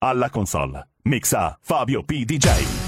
Alla console mixa Fabio P. DJ.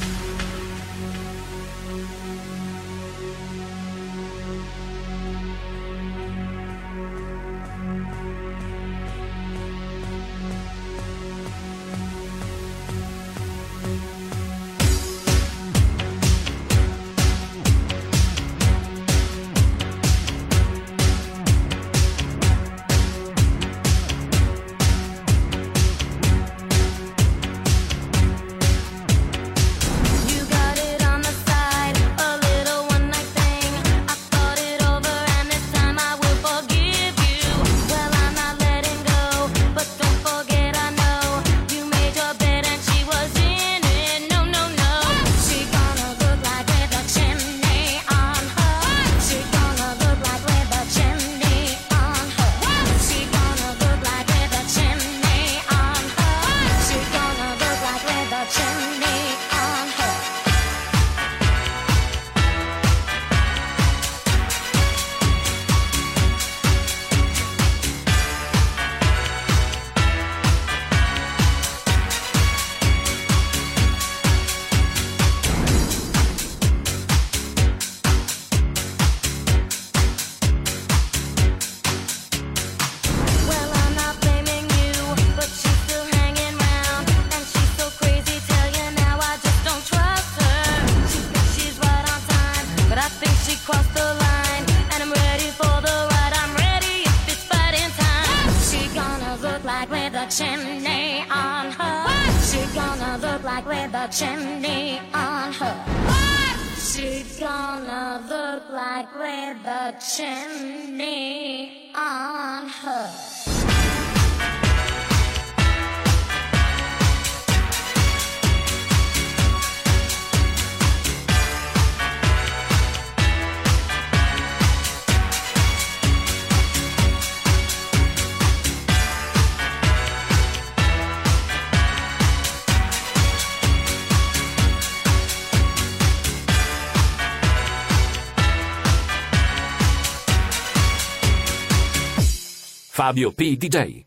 Fabio P. DJ.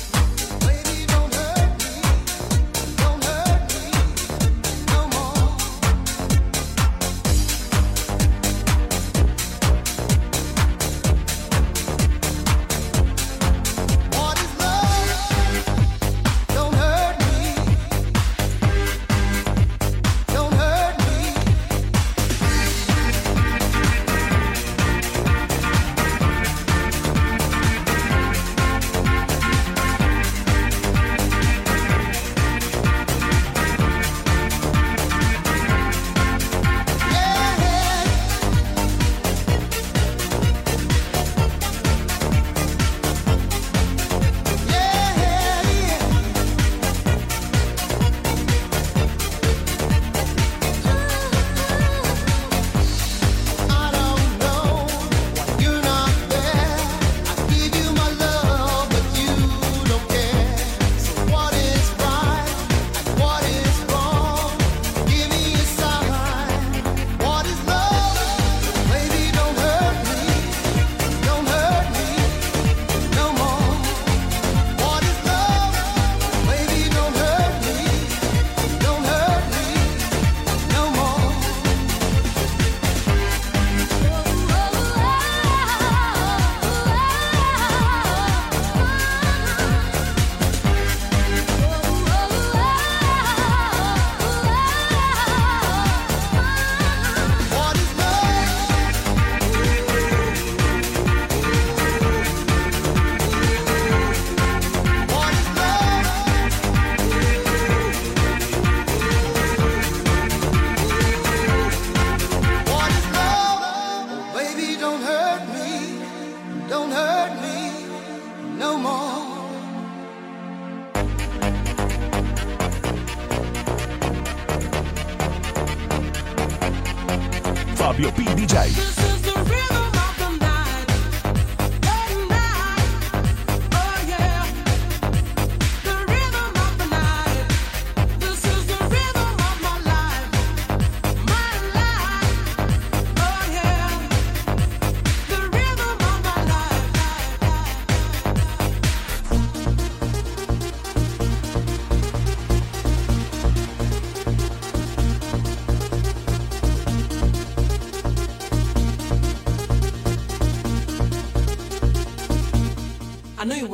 Fabio P. DJ.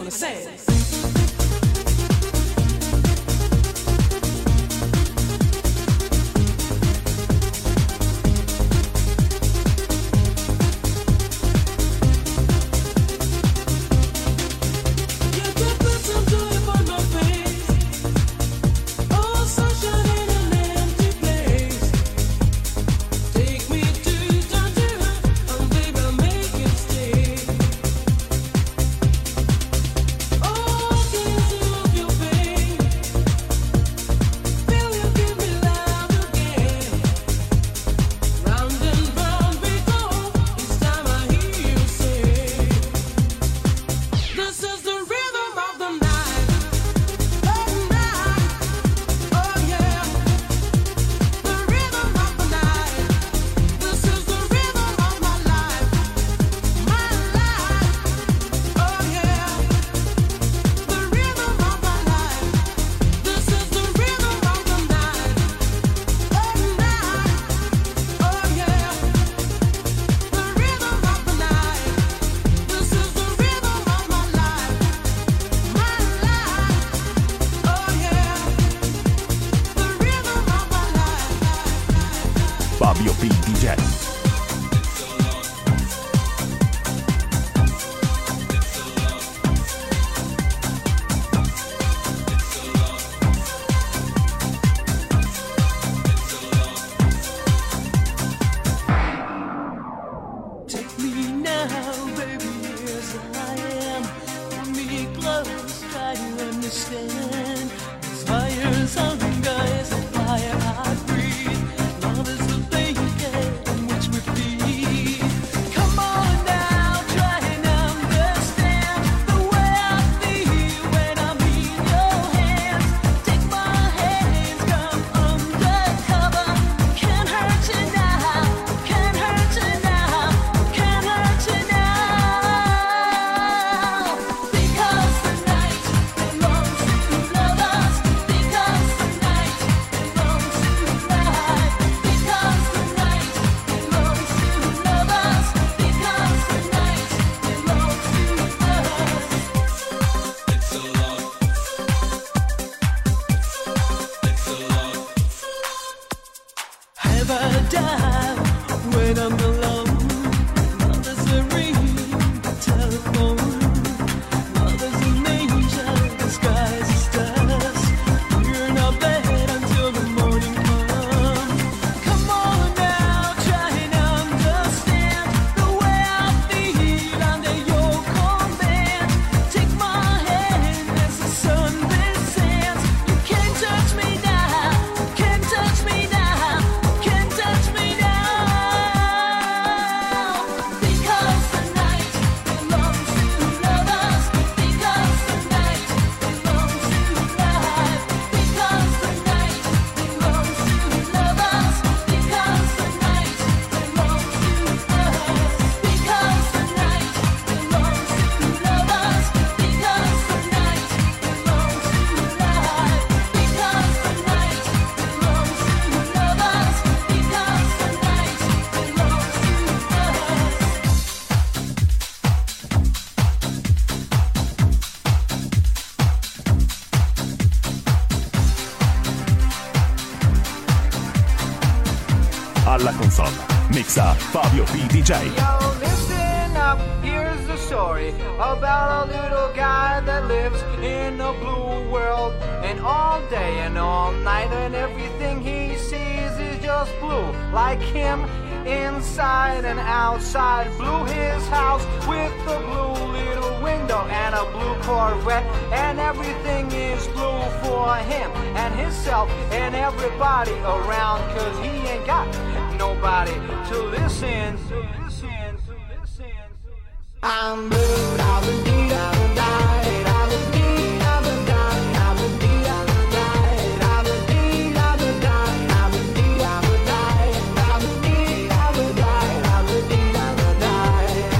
it says. Fabio P. DJ. Alla console mixa Fabio P. DJ. Yo, listen up, here's the story about a little guy that lives in a blue world. And all day and all night and everything he sees is just blue. Like him, inside and outside. Blue his house with a blue little window and a blue Corvette. And everything is blue for him and himself and everybody around. Cause he ain't got nobody to listen. I'm blue, I'm indeed, I'm died, I'm indeed, I'm died, I'm indeed, I'm died, I'm indeed, I'm died, I'm indeed, I'm died, I'm indeed, I'm died, I'm indeed, I'm died.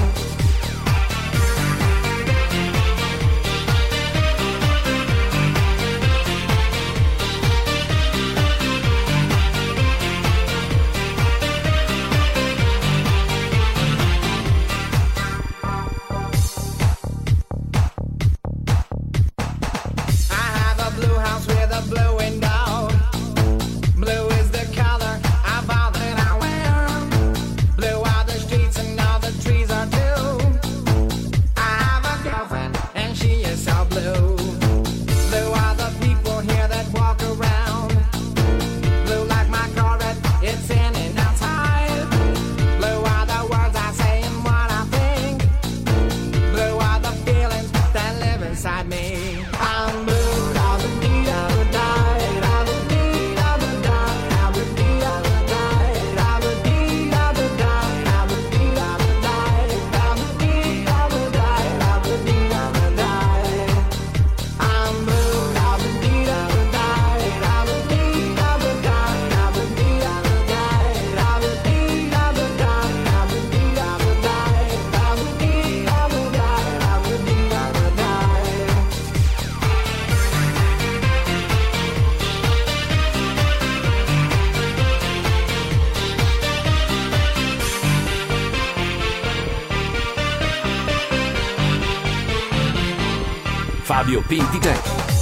the blue window. Blue is the color of all that I wear. Blue are the streets and all the trees are blue. I have a girlfriend and she is so blue. Blue are the people here that walk around. Blue like my Corvette, it's in and outside. Blue are the words I say and what I think. Blue are the feelings that live inside me. I'm blue. Fabio P. DJ.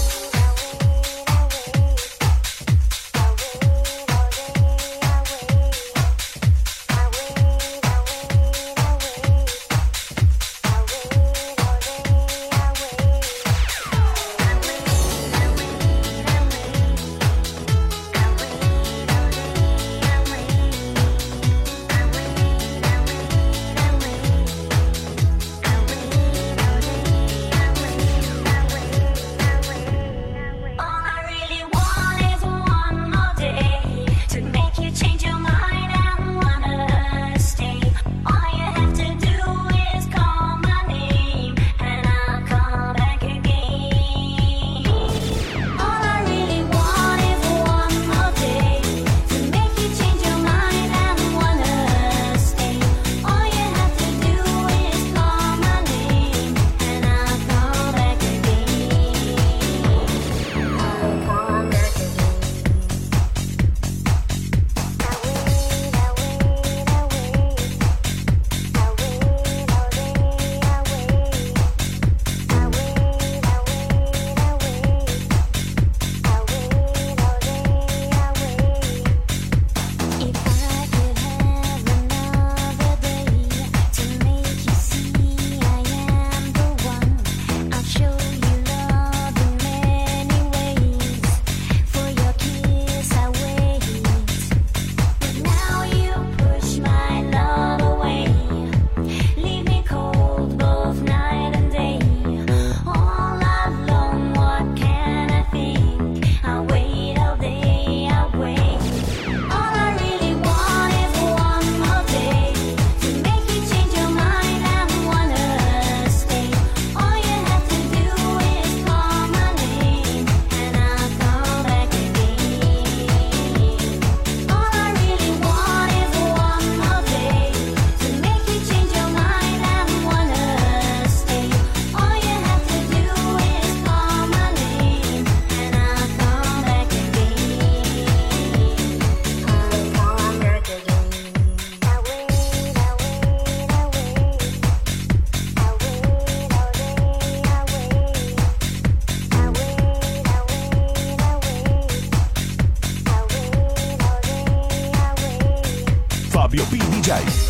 Fabio P. DJ.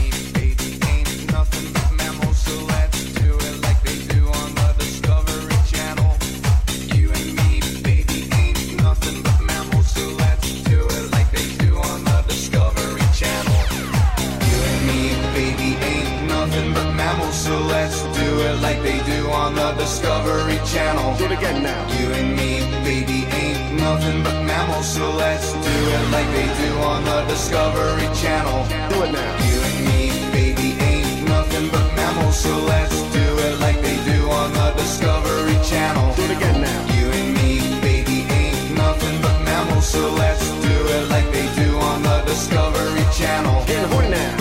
So let's do it like they do on the Discovery Channel. Do it again now. You and me, baby, ain't nothing but mammals. So let's do it like they do on the Discovery Channel. Do it now. You and me, baby, ain't nothing but mammals. So let's do it like they do on the Discovery Channel. Do it again now. You and me, baby, ain't nothing but mammals. So let's do it like they do on the Discovery Channel. Get horny now.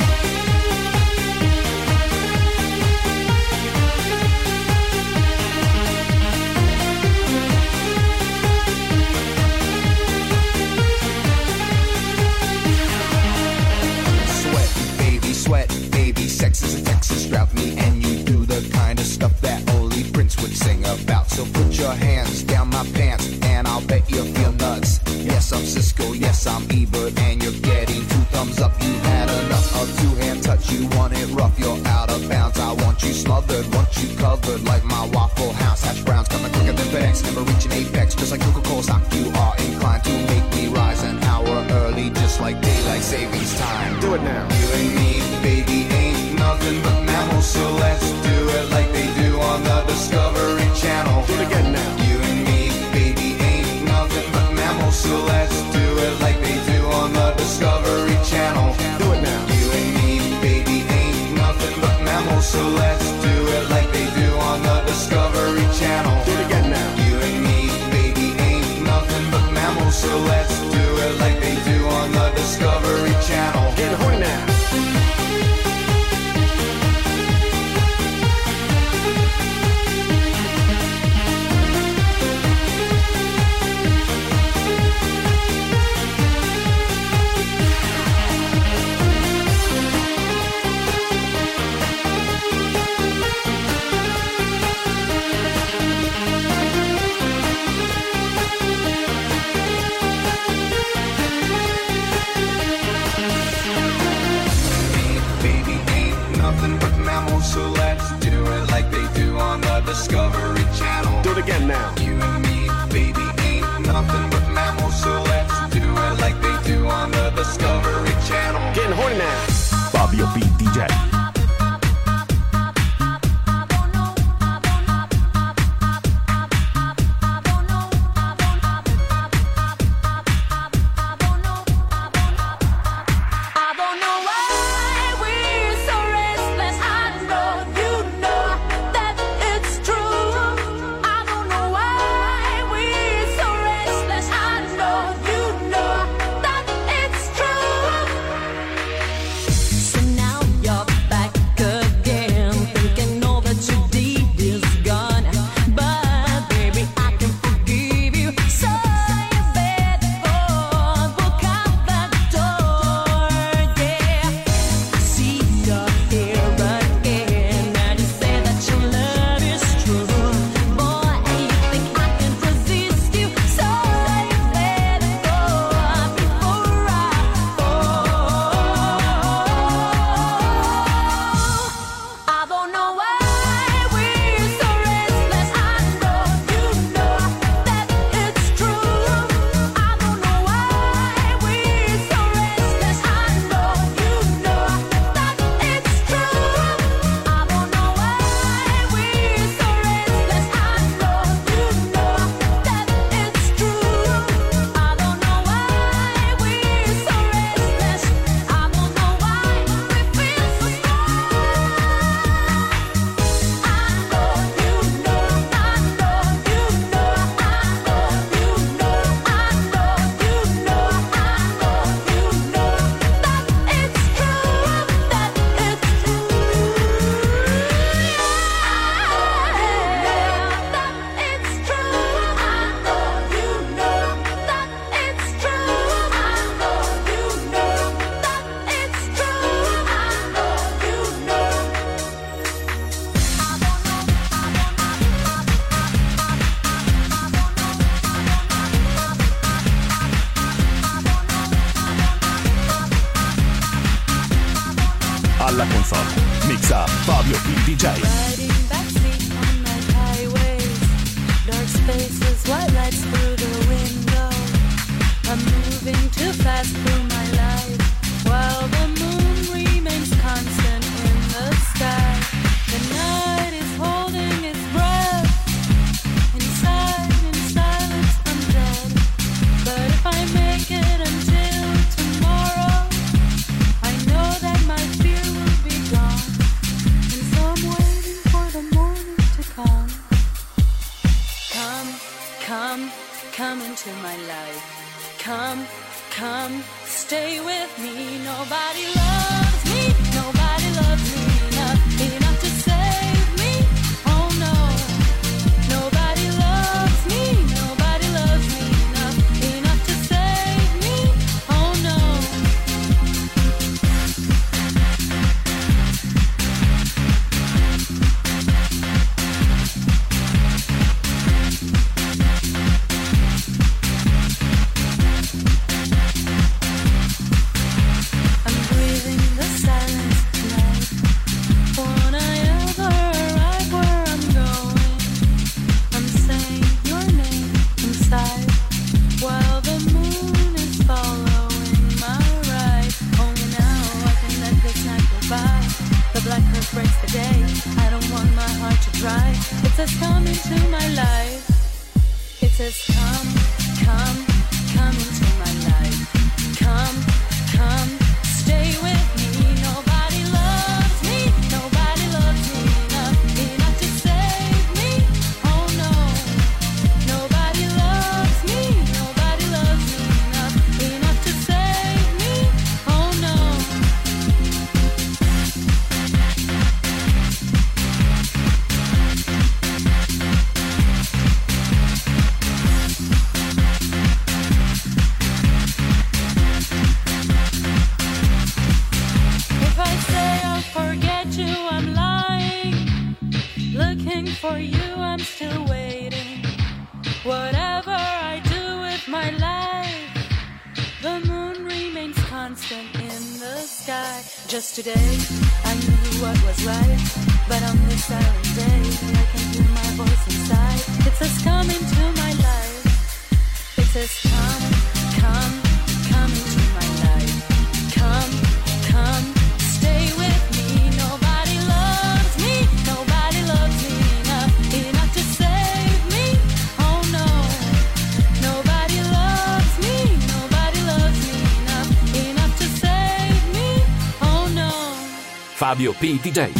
Sweat, baby, sex is a Texas drought. Me and you do the kind of stuff that only Prince would sing about. So put your hands down my pants and I'll I'll bet you feel nuts. Yes, I'm Cisco, yes, I'm Ebert, and you're getting 2 thumbs up. You had enough of 2-hand touch, you want it rough, you're out of bounds. I want you smothered, want you covered like my Waffle House. Hash browns coming quicker than FedEx, never reaching apex, just like Coca-Cola stock. You are inclined to make me rise an hour early, just like daylight savings time. Do it now. You and me, baby, ain't nothing but mammals, so let's do it like they do on the Discovery Channel. Do it again now. You and me, baby, ain't nothing but mammals, so let's do it like they do on the Discovery Channel. Do it now. You and me, baby, ain't nothing but mammals, so let's do it like they do on the Discovery Channel. Do it again now. You and me, baby, ain't nothing but mammals, so let's do it like they do on the Discovery Channel. Get horny now. So let's do it like they do on the Discovery Channel. Do it again now. You and me, baby, ain't nothing but mammals, so let's do it like they do on the Discovery Channel. Getting horny now. Fabio P. DJ. Alla console mixa Fabio P. DJ. Riding backseat on night highways, dark spaces, white lights through the window. I'm moving too fast through my life, while the moon remains constant in the sky. The night is holding its breath. Inside, in silence, I'm dead. But if I make it until tomorrow, I know that my fear will be gone. And so I'm waiting for the morning to come. Come into my life. Come, stay with me. Nobody loves me enough to save me. Oh no, nobody loves me enough to save me. Oh no. my life. The moon remains constant in the sky. Just today, I knew what was right, but on this silent day, I can hear my voice inside. It says, come into my life. It says, come, come, come into my life. Come, come, stay with me. Nobody loves me. Nobody loves me enough to save me. Oh no. Nobody loves me. Nobody loves me enough to save me. Oh no. Fabio P. DJ.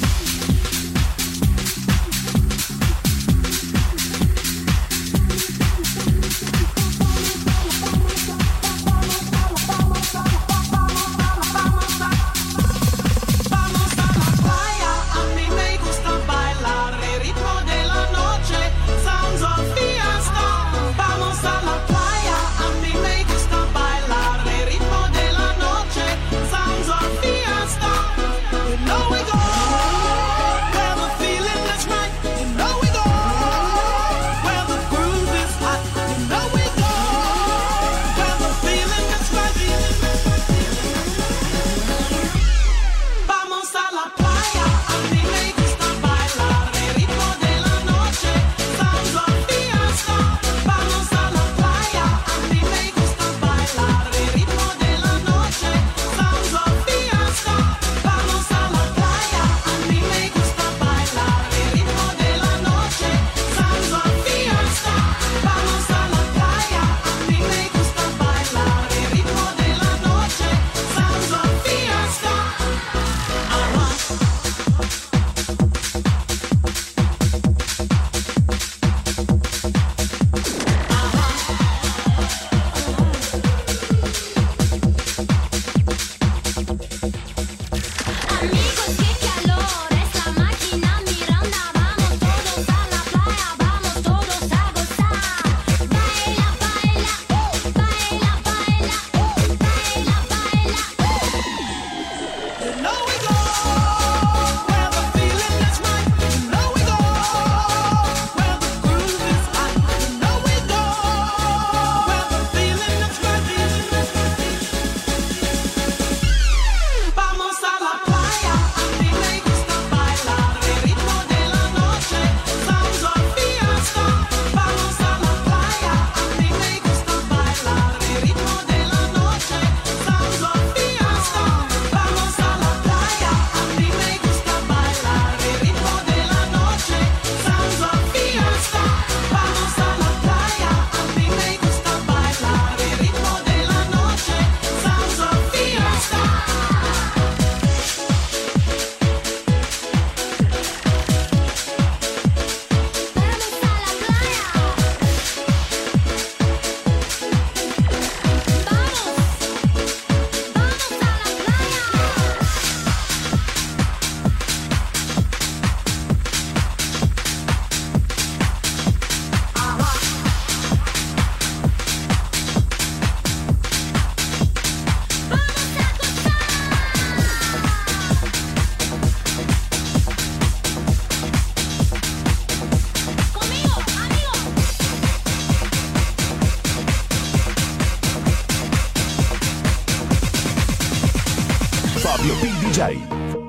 Fabio P. DJ.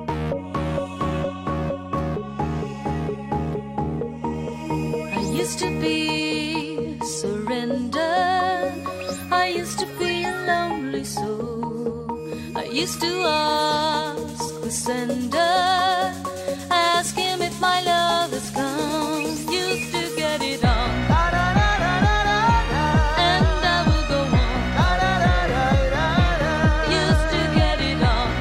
I used to be surrendered. I used to be a lonely soul. I used to ask the sender, ask him if my love has come. Used to get it on, and I will go on. Used to get it on,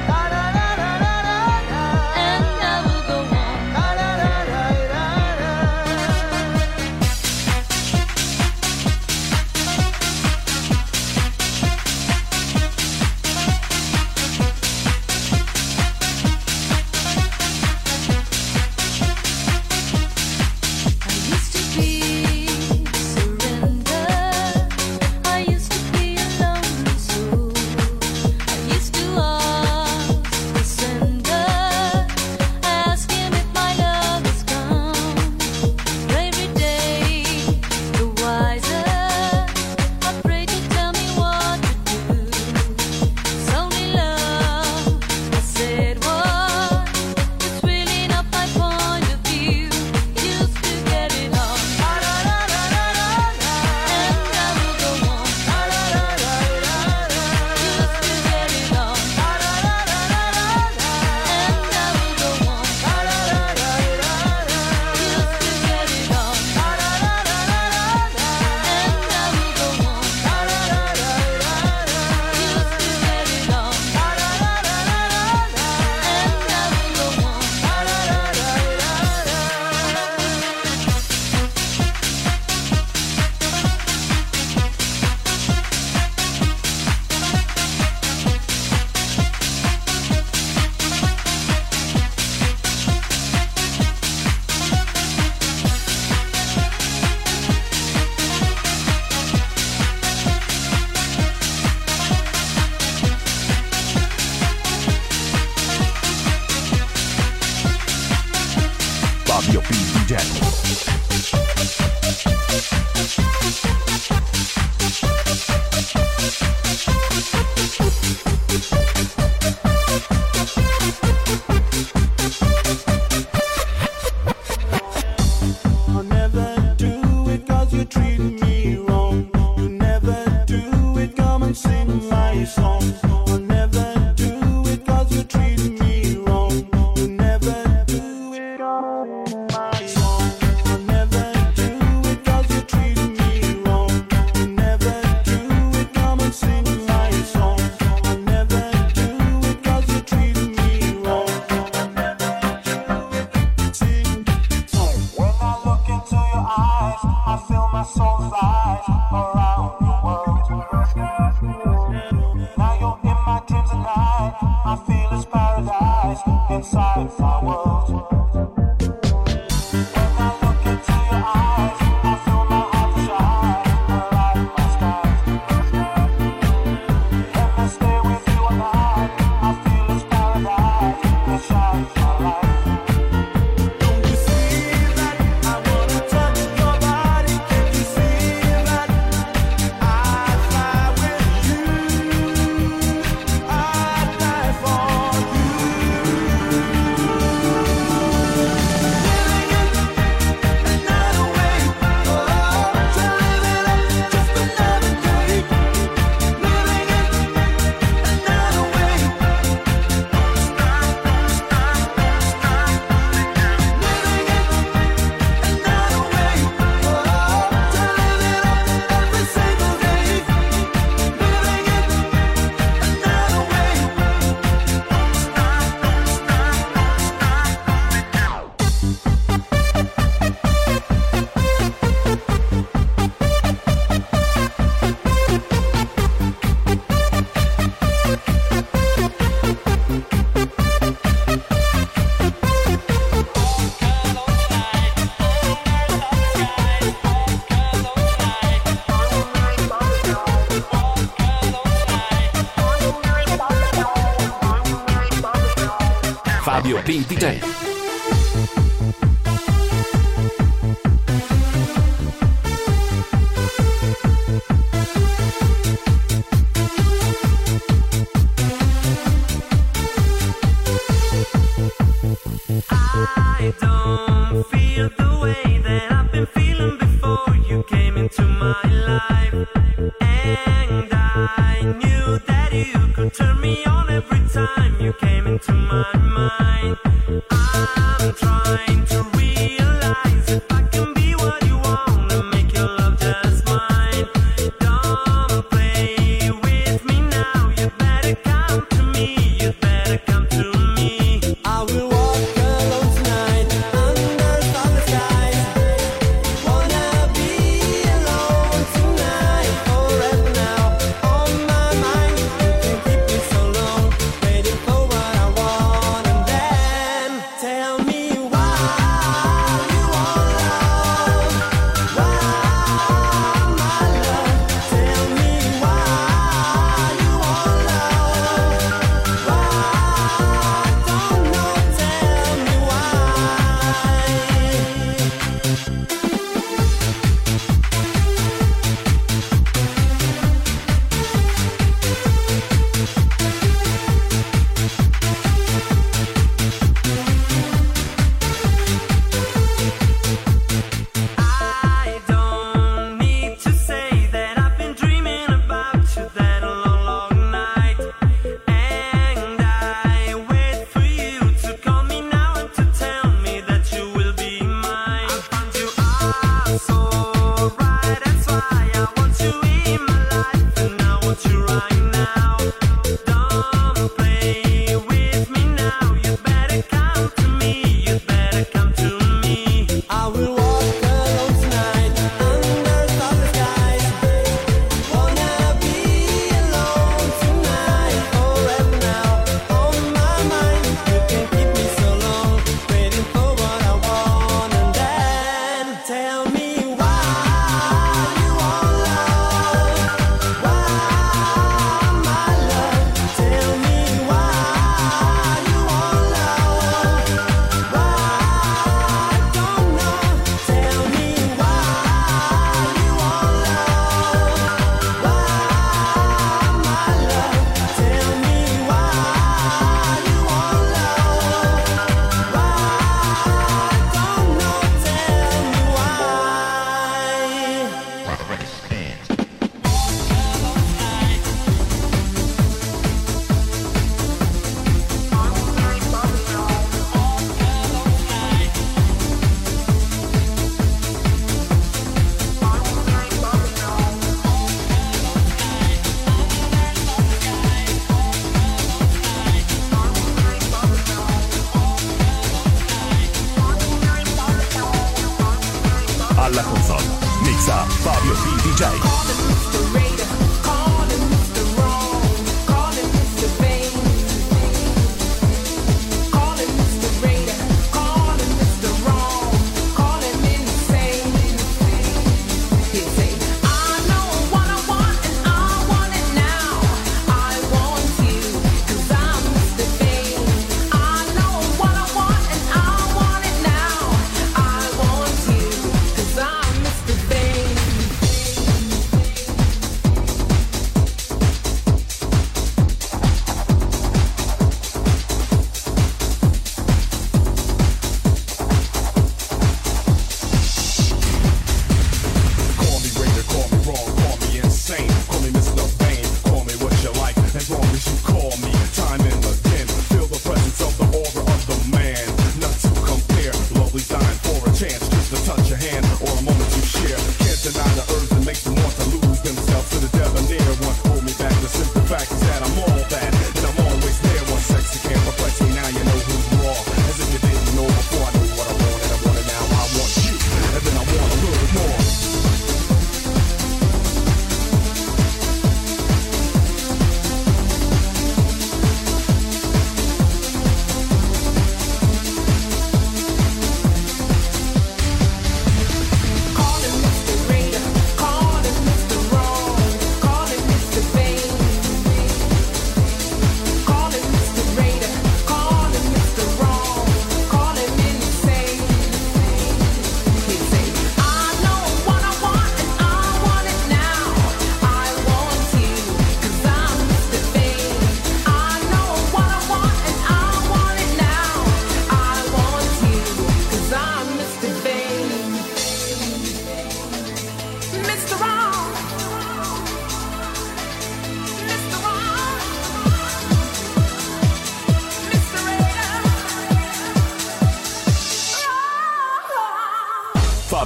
and I will go on. Fabio P. DJ. Fabio P. DJ. I don't feel the way that I've been feeling before you came into my life. And I knew that you could turn me on every time you came into my mind.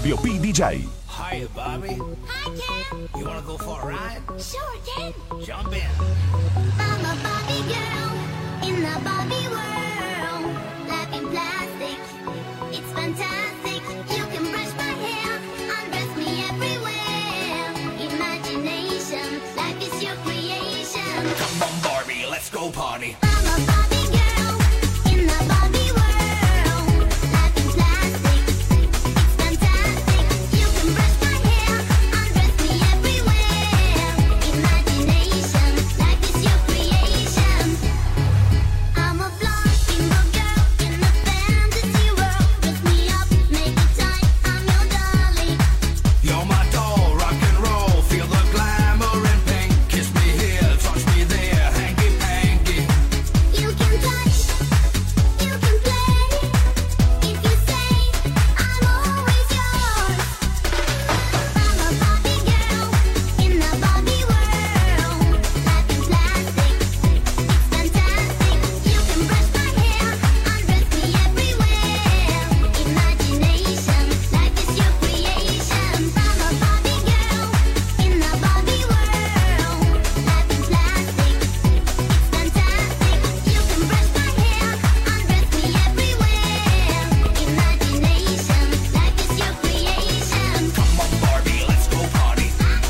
Fabio P. DJ. Hiya, Bobby. Hi, Ken. You wanna go for a ride? Sure, Ken. Jump in. I'm a Barbie girl in the Barbie world. Life in plastic, it's fantastic. You can brush my hair, undress me everywhere. Imagination, life is your creation. Come on, Barbie, let's go party. I'm a Barbie girl in the Barbie world. Life in plastic, it's fantastic. You can brush my hair, undress me everywhere. Imagination, life is your creation. I'm a blonde single girl in the fantasy world. Dress me up, make it tight, I'm your darling. You're my doll, rock and roll. Feel the glamour and pink. Kiss me here, touch me there. Hanky panky. You can touch, you can play. If you say I'm always yours. I'm a Barbie girl in the Barbie world. Life in plastic, it's fantastic. You can brush my hair, undress me everywhere. Imagination, life is your creation. I'm a Barbie girl in the Barbie world. Life in plastic, it's fantastic. You can brush my hair, undress me everywhere. Imagination, life is your creation. Come on, Barbie, let's go party.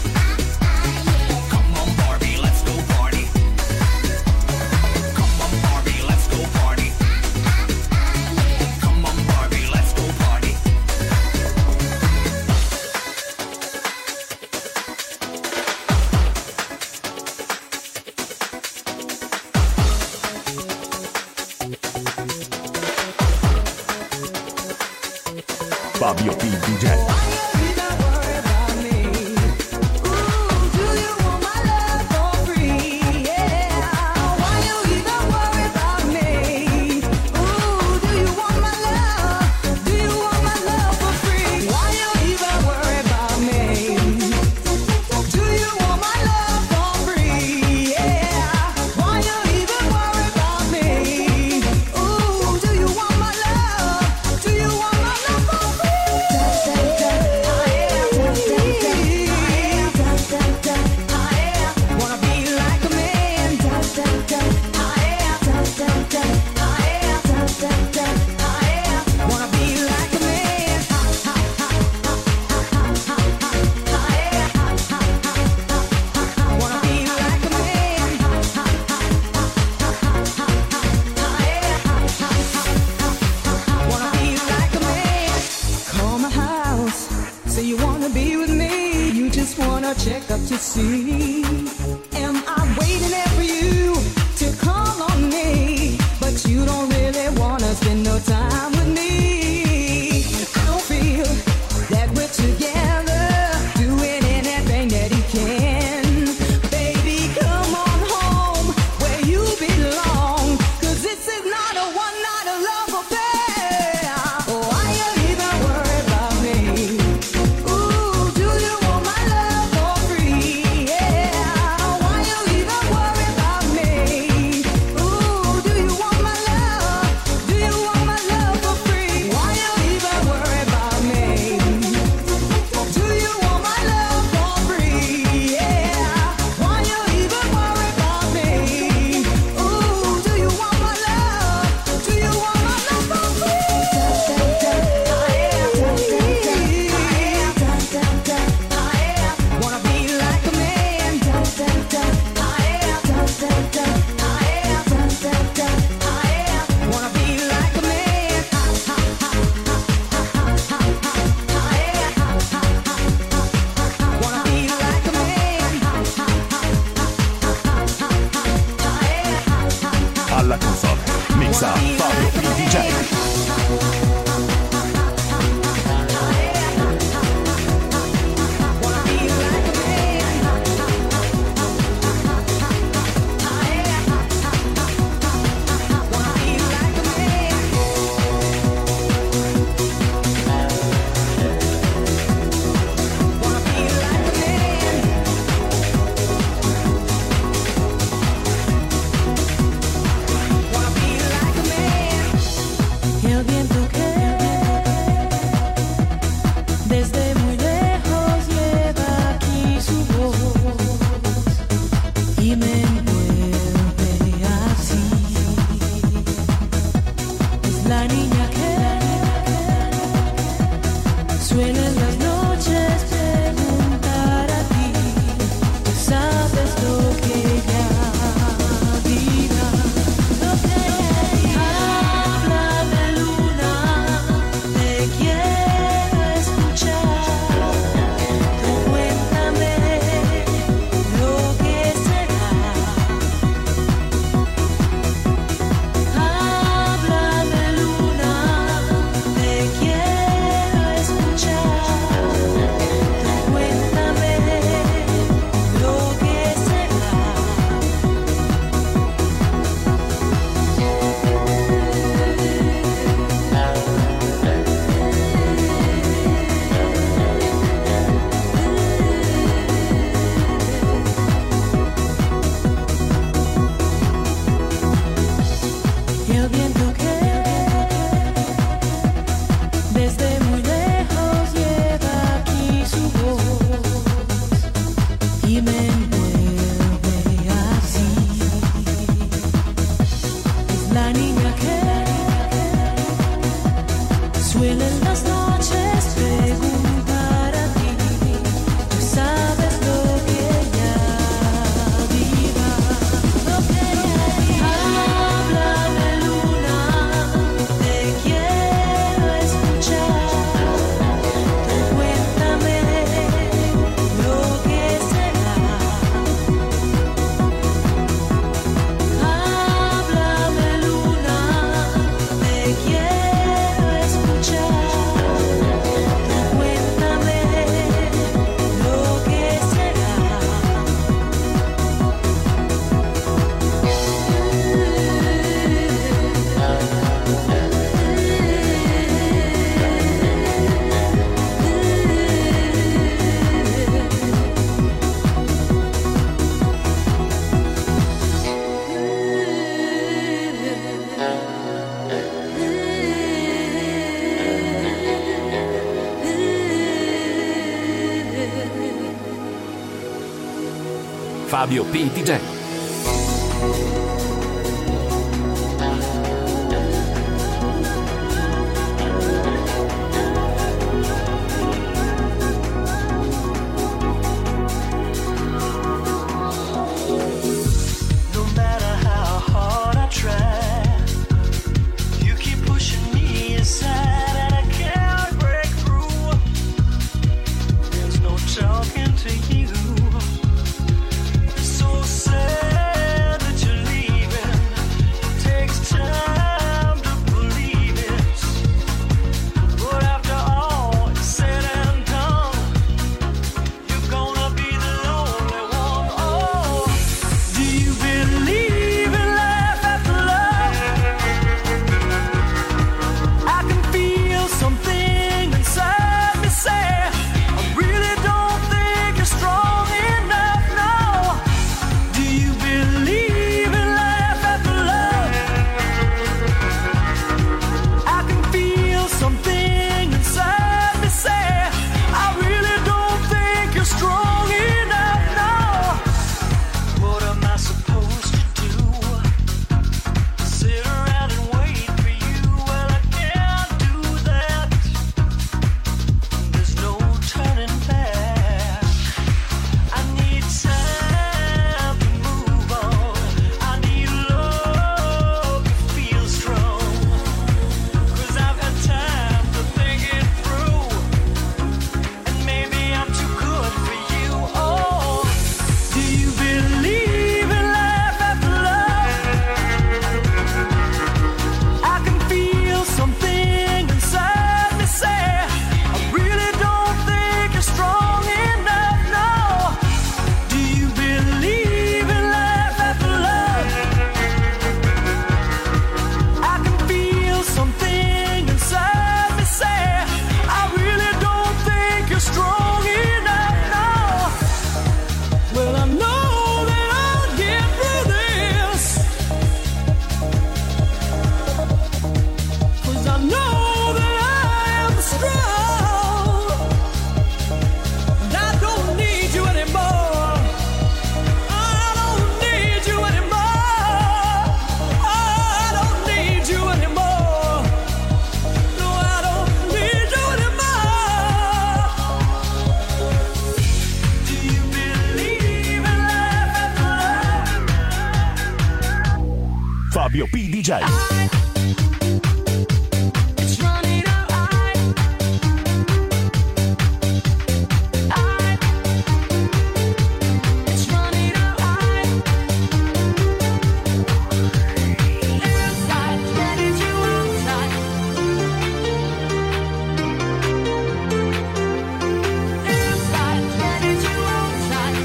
Come on, Barbie, let's go party. Come on, Barbie, let's go party. Come on, Barbie, let's go party. Fabio P. DJ. Check up to see, am I waiting there for you to call on me? But you don't really wanna spend no time with me. I don't feel that we're together, doing anything that he can. Baby, come on home where you belong, 'cause this is not a one-night love affair. Why you even worry about me? Ooh, do you want my love for free? Yeah. Why you even worry about me? Ooh, do you want my love? Do you want my love for free? Why you even worry about me? Do you want my love for free? Yeah. Why you even worry about me? Ooh, do you want my love? Do you want my love for free? Wanna be like a man. Wanna be like a man. Wanna be like a man. Alla console. Mixa Fabio P. DJ. Wanna be like a man. Wanna be like a man. Wanna be like a man. Wanna be like a man. El viento que y me envuelve así. Es la niña que suele en las noches preguntar a ti. Tú sabes lo que ella dirá. Lo que háblame, luna, te quiero escuchar. Tú cuéntame lo que será. Háblame, luna, te quiero escuchar. Tú cuéntame lo que será. El viento que desde muy lejos lleva aquí su voz y me envuelve así. Es la niña que suele en las noches preguntar a ti. Tú sabes lo que ella dirá. Lo que háblame, luna, te quiero escuchar. Tú cuéntame lo que será. Háblame, luna, te quiero escuchar. Tú cuéntame lo que será. Fabio P. DJ. No matter how hard I try, you keep pushing me aside and I can't break through. There's no talking to you. It's so sad that you're leaving. Fabio P. DJ. It's running out. It's running out. Inside, ready to outside. Inside, ready to outside.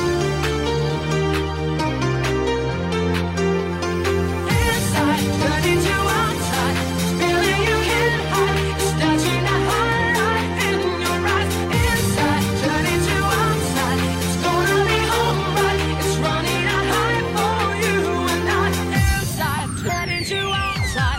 Inside, ready to outside. Feeling you can't hide. It's touching a highlight in your eyes. Inside, ready to outside. It's gonna be alright. It's running out high for you and I. Inside, ready to outside.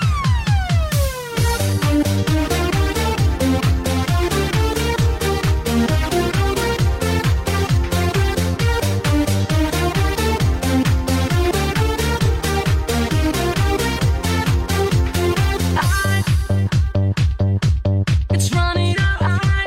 It's running out.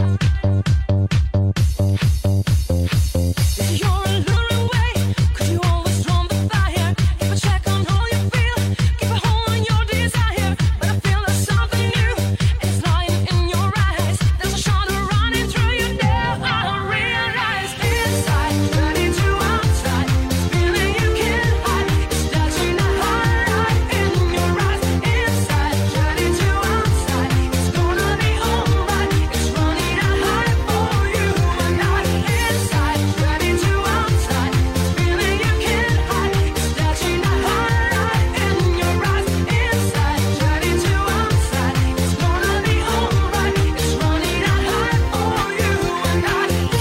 If you're a little away, could you always warm the fire? If I check on how you feel, keep a hold on your desire. But I feel there's something new, it's lying in your eyes. There's a shadow running through you now. I realize inside, ready to outside. It's feeling you can't hide. It's touching a highlight in your eyes. Inside, ready to outside. It's gonna be alright. It's running out high for you and I. Inside, ready to outside. It's feeling you can't hide. It's touching a highlight in your eyes. Inside, ready to outside. It's gonna be alright. It's running out high for you and I.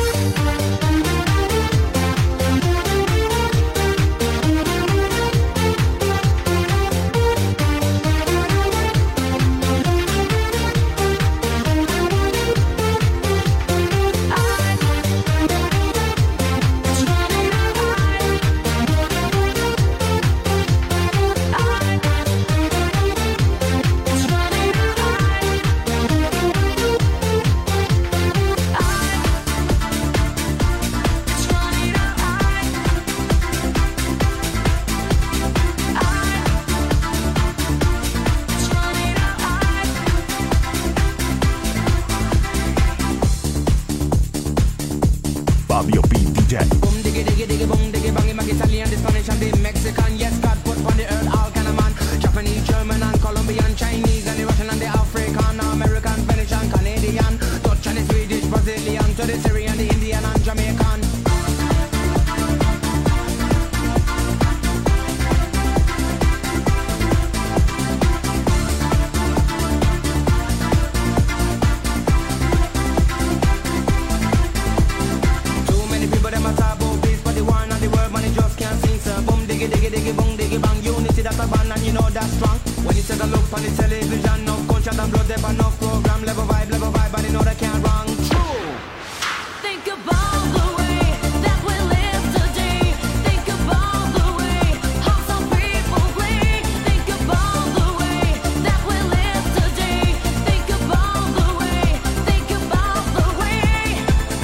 Fabio P. DJ. Boom diggy diggy diggy boom diggy bangy mag Italian, the Spanish and the Mexican. Yes, God put on the earth all kind of man. Japanese, German and Colombian, Chinese and the Russian and the African, American, Spanish and Canadian, Dutch and the Swedish, Brazilian, to the Syrian, the Indian and Jamaican. Too many people them a talk about peace, but the war and the world man it just can't sing. So boom diggy diggy diggy boom diggy bang, unity that's a band and you know that's strong. When you take a look on the television, enough culture and blood, there enough program, level vibe, but you know they can't wrong. True. Think about the way that we live today. Think about the way how some people play. Think about the way that we live today. Think about the way. Think about the way.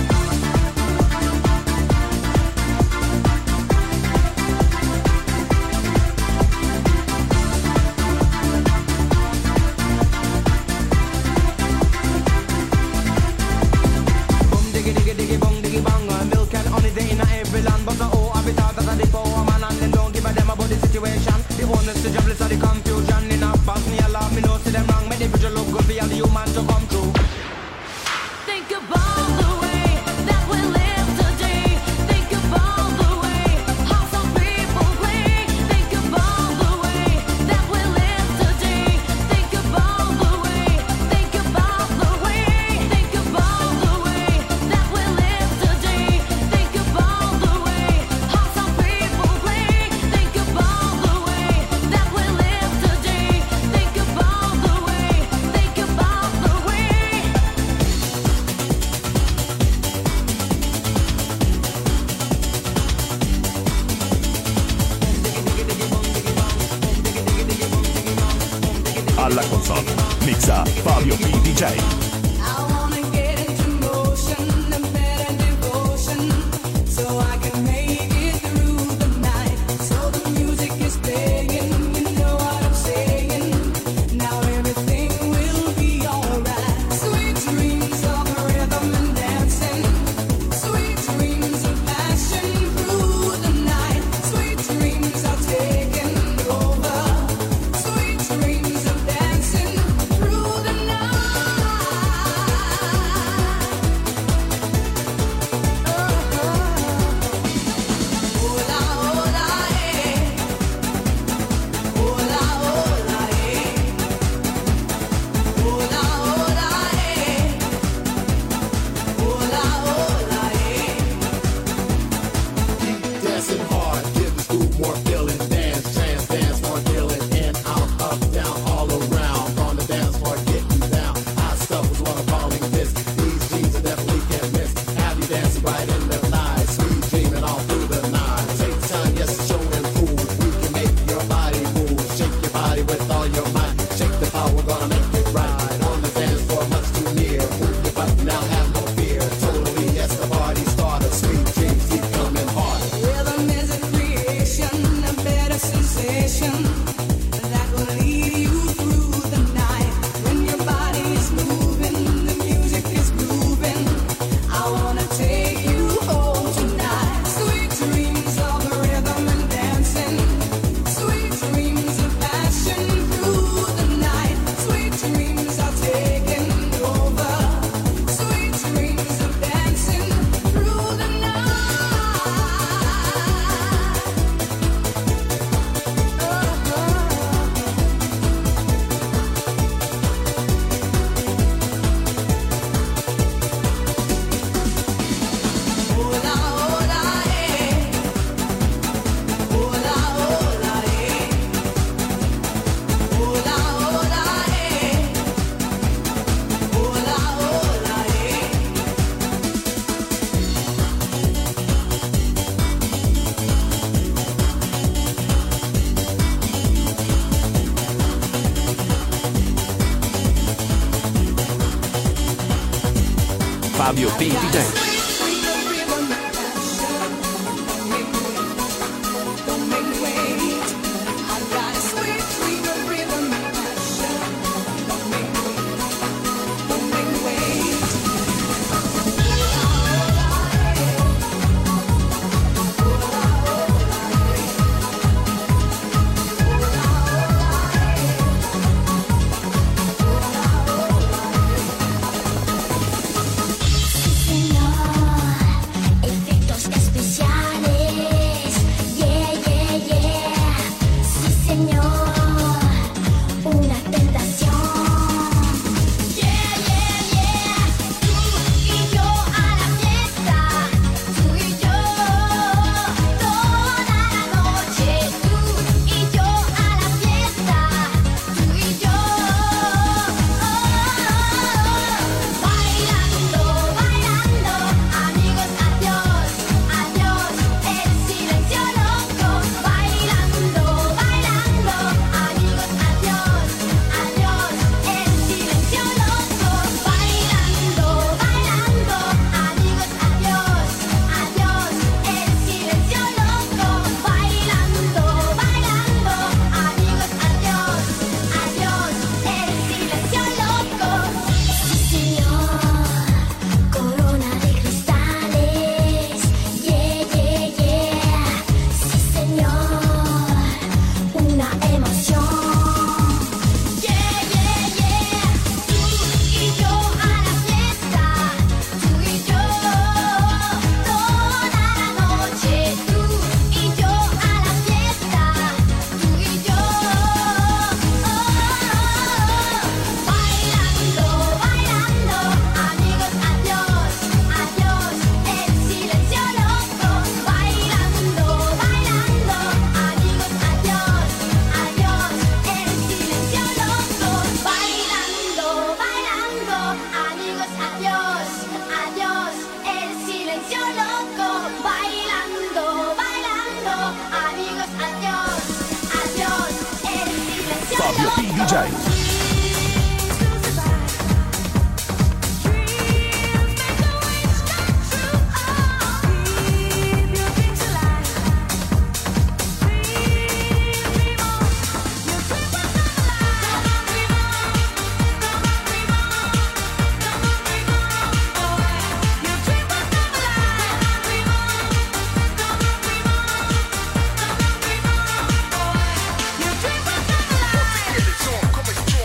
Boom diggy diggy diggy bong diggy bang. Milk and honey they in every land, but the oh I be thought that the poor man and them don't give a damn about the situation. The owners the jobless are the confusion in a Bosnia law. Me know see them wrong, make the picture look good for all the human to come through. Think about the way that we live today. Think about the way how some people play. Think about the way that we live today. Think about the way. Think about the way. Think about the way that we live today. Think about the way how some people play. Think about the way that we live today. Think about the way. Think about the way. Alla console mixa Fabio P. DJ. I wanna get into motion and better devotion, so I can make it through the night. So the music is playing, you know Fabio P. DJ. Fabio P. DJ. Come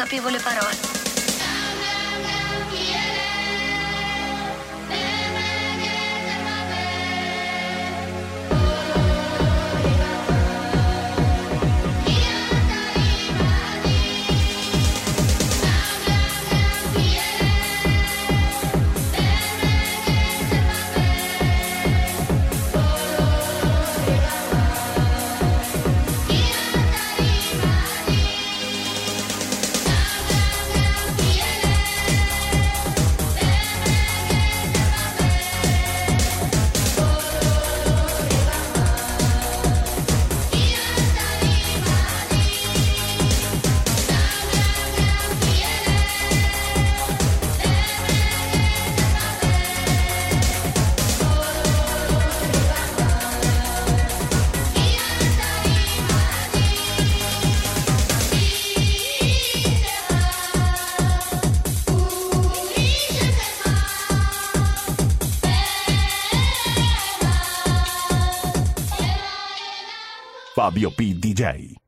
capivo le parole. Fabio P. DJ.